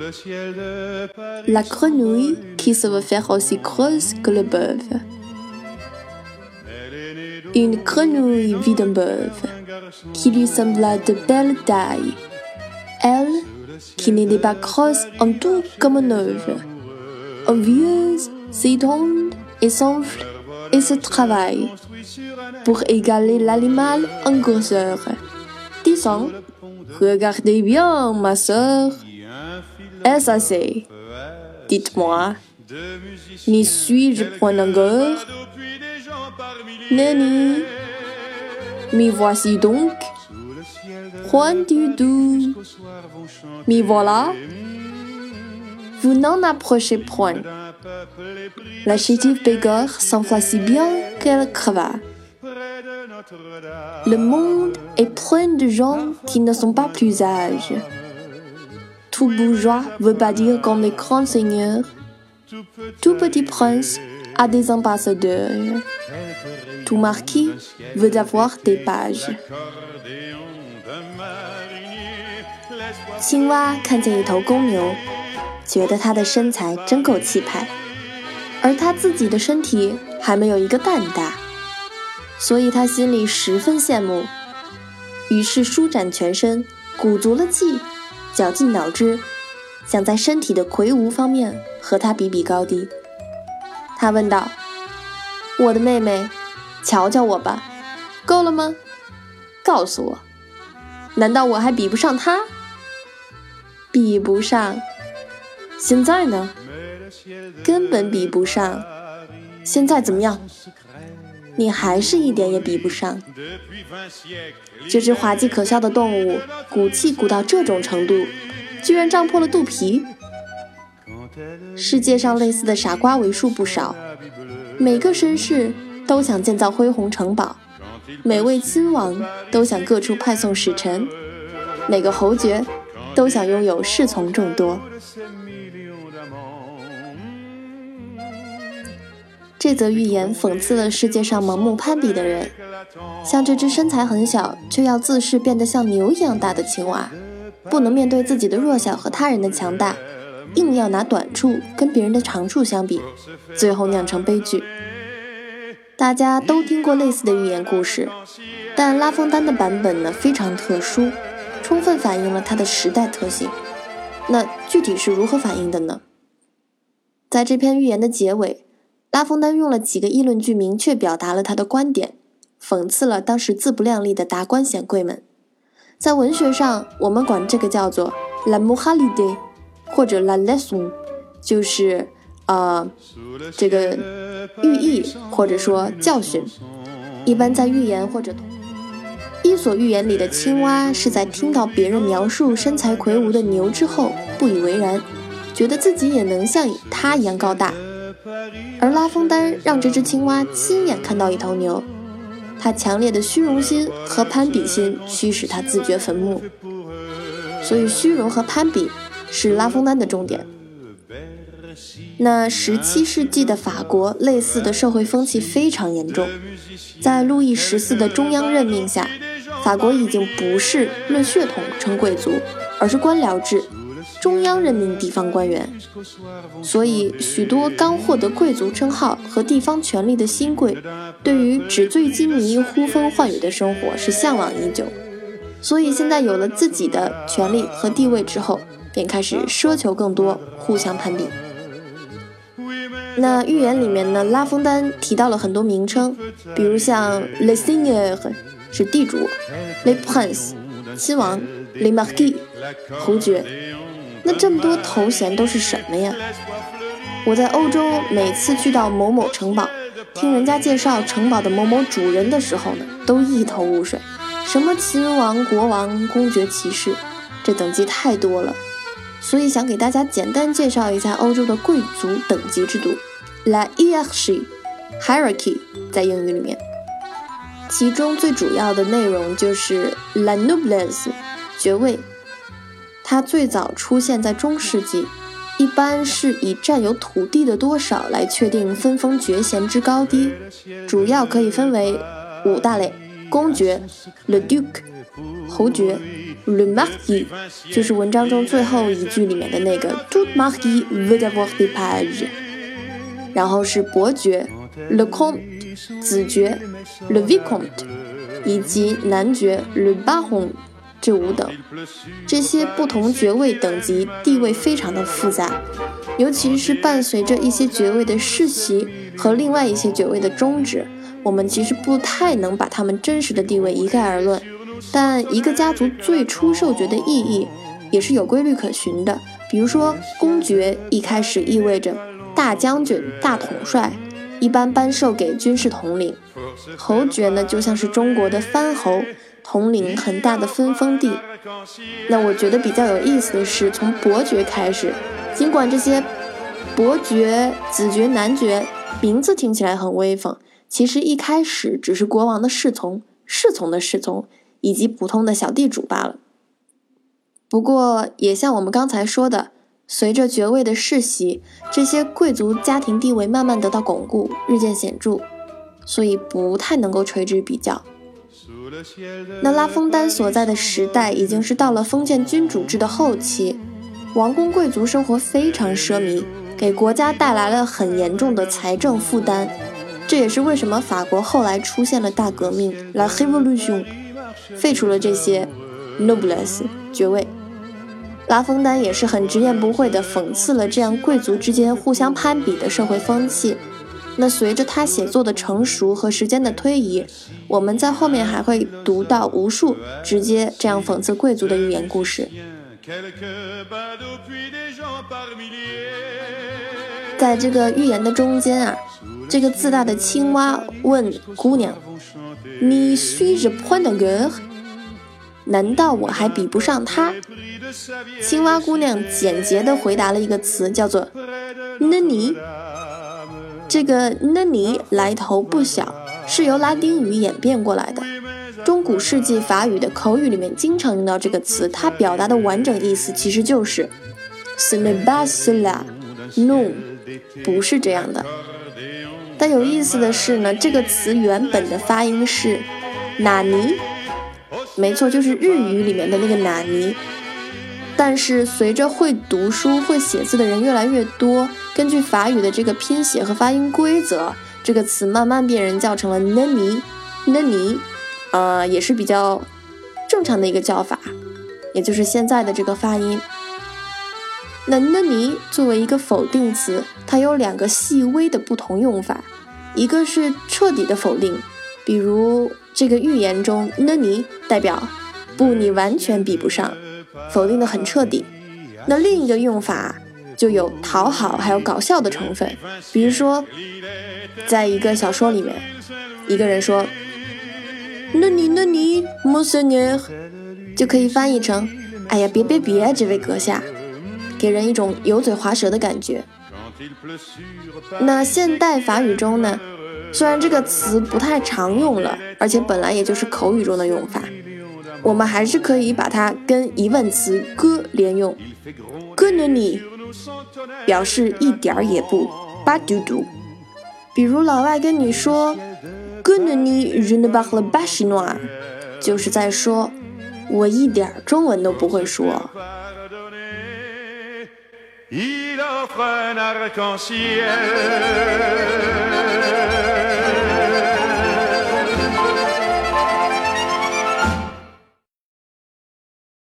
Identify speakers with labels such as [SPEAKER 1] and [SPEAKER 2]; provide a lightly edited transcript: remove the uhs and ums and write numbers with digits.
[SPEAKER 1] La grenouille qui se veut faire aussi grosse que le bœuf. Une grenouille vit d'un bœuf qui lui sembla de belle taille. Elle, qui n'était pas grosse en tout comme un œuf, envieuse, s'étend et s'enfle et se travaille pour égaler l'animal en grosseur, disant « Regardez bien, ma sœur, est-ce assez? Dites-moi, n'y suis-je point encore? Nenni, m'y voici donc, point du tout, m'y voilà. Vous n'en approchez point. » La chétive Bégor s'enfla si bien qu'elle creva. Le monde est plein de gens qui ne sont pas plus sages. Tout bourgeois veut bâtir comme les grands seigneurs. Tout petit prince a des ambassadeurs. Tout marquis veut avoir des pages. 青蛙看见一头公牛，觉得它的身材真够气派，而它自己的身体还没有一个蛋大，所以它心里十分羡慕，于是舒展全身，鼓足了气，绞尽脑汁，想在身体的魁梧方面和它比比高低。他问道：“我的妹妹，瞧瞧我吧，够了吗？告诉我，难道我还比不上她？比不上。现在呢？根本比不上。现在怎么样？你还是一点也比不上。”这只滑稽可笑的动物鼓气鼓到这种程度，居然胀破了肚皮。世界上类似的傻瓜为数不少，每个绅士都想建造恢宏城堡，每位亲王都想各处派送使臣，每个侯爵都想拥有侍从众多。这则寓言讽刺了世界上盲目攀比的人，像这只身材很小却要自视变得像牛一样大的青蛙，不能面对自己的弱小和他人的强大，硬要拿短处跟别人的长处相比，最后酿成悲剧。大家都听过类似的寓言故事，但拉封丹的版本呢非常特殊，充分反映了它的时代特性。那具体是如何反映的呢？在这篇寓言的结尾，拉封丹用了几个议论句明确表达了他的观点，讽刺了当时自不量力的达官显贵们。在文学上，我们管这个叫做 la moralité 或者 la leçon， 就是这个寓意或者说教训。一般在寓言或者伊索寓言里的青蛙是在听到别人描述身材魁梧的牛之后不以为然，觉得自己也能像他一样高大。而拉封丹让这只青蛙亲眼看到一头牛，他强烈的虚荣心和攀比心驱使他自掘坟墓，所以虚荣和攀比是拉封丹的重点。那17世纪的法国类似的社会风气非常严重，在路易14的中央任命下，法国已经不是论血统称贵族，而是官僚制，中央任命地方官员，所以许多刚获得贵族称号和地方权力的新贵，对于纸醉金迷、呼风唤雨的生活是向往已久。所以现在有了自己的权力和地位之后，便开始奢求更多，互相攀比。那寓言里面呢，拉封丹提到了很多名称，比如像 les seigneurs 是地主， les princes 亲王， les marquis 侯爵。那这么多头衔都是什么呀？我在欧洲每次去到某某城堡，听人家介绍城堡的某某主人的时候呢，都一头雾水，什么亲王、国王、公爵、骑士，这等级太多了。所以想给大家简单介绍一下欧洲的贵族等级制度 La hiérarchie 在英语里面，其中最主要的内容就是 La noblesse 爵位。它最早出现在中世纪，一般是以占有土地的多少来确定分封爵衔之高低，主要可以分为5大类。 公爵 le duc， 侯爵 le marquis， 就是文章中最后一句里面的那个 tout marquis veut avoir des pages， 然后是伯爵 le comte， 子爵 le vicomte， 以及男爵 le baron， 这5等。这些不同爵位等级地位非常的复杂，尤其是伴随着一些爵位的世袭和另外一些爵位的终止，我们其实不太能把他们真实的地位一概而论。但一个家族最初授爵的意义也是有规律可循的，比如说公爵一开始意味着大将军、大统帅，一般颁授给军事统领。侯爵呢，就像是中国的藩侯，统领很大的分封地。那我觉得比较有意思的是，从伯爵开始，尽管这些伯爵、子爵、男爵名字听起来很威风，其实一开始只是国王的侍从、侍从的侍从以及普通的小地主罢了。不过也像我们刚才说的，随着爵位的世袭，这些贵族家庭地位慢慢得到巩固，日渐显著，所以不太能够垂直比较。那拉封丹所在的时代已经是到了封建君主制的后期，王公贵族生活非常奢靡，给国家带来了很严重的财政负担。这也是为什么法国后来出现了大革命 La Révolution， 废除了这些 noblesse 爵位。拉封丹也是很直言不讳地讽刺了这样贵族之间互相攀比的社会风气。那随着他写作的成熟和时间的推移，我们在后面还会读到无数直接这样讽刺贵族的寓言故事。在这个寓言的中间啊，这个自大的青蛙问姑娘：“你suis-je point de guerre？ 难道我还比不上他？”青蛙姑娘简洁地回答了一个词，叫做 “nani”。这个 nani 来头不小，是由拉丁语演变过来的。中古世纪法语的口语里面经常用到这个词，它表达的完整意思其实就是 ce n'est pas cela， non， 不是这样的。但有意思的是呢，这个词原本的发音是纳尼，没错，就是日语里面的那个纳尼。但是随着会读书会写字的人越来越多，根据法语的这个拼写和发音规则，这个词慢慢被人叫成了 nani， 也是比较正常的一个叫法，也就是现在的这个发音。那 nani 作为一个否定词，它有2个细微的不同用法，一个是彻底的否定，比如这个寓言中 nani 代表不，你完全比不上，否定的很彻底。那另一个用法就有讨好还有搞笑的成分，比如说在一个小说里面，一个人说 nani monseigneur， 就可以翻译成哎呀别这位阁下，给人一种油嘴滑舌的感觉。那现代法语中呢，虽然这个词不太常用了，而且本来也就是口语中的用法，我们还是可以把它跟疑问词哥连用。哥呢你表示一点也不巴嘟嘟。比如老外跟你说哥呢你 je ne parle pas chinois， 就是在说我一点中文都不会说。Il offre un arc-en-ciel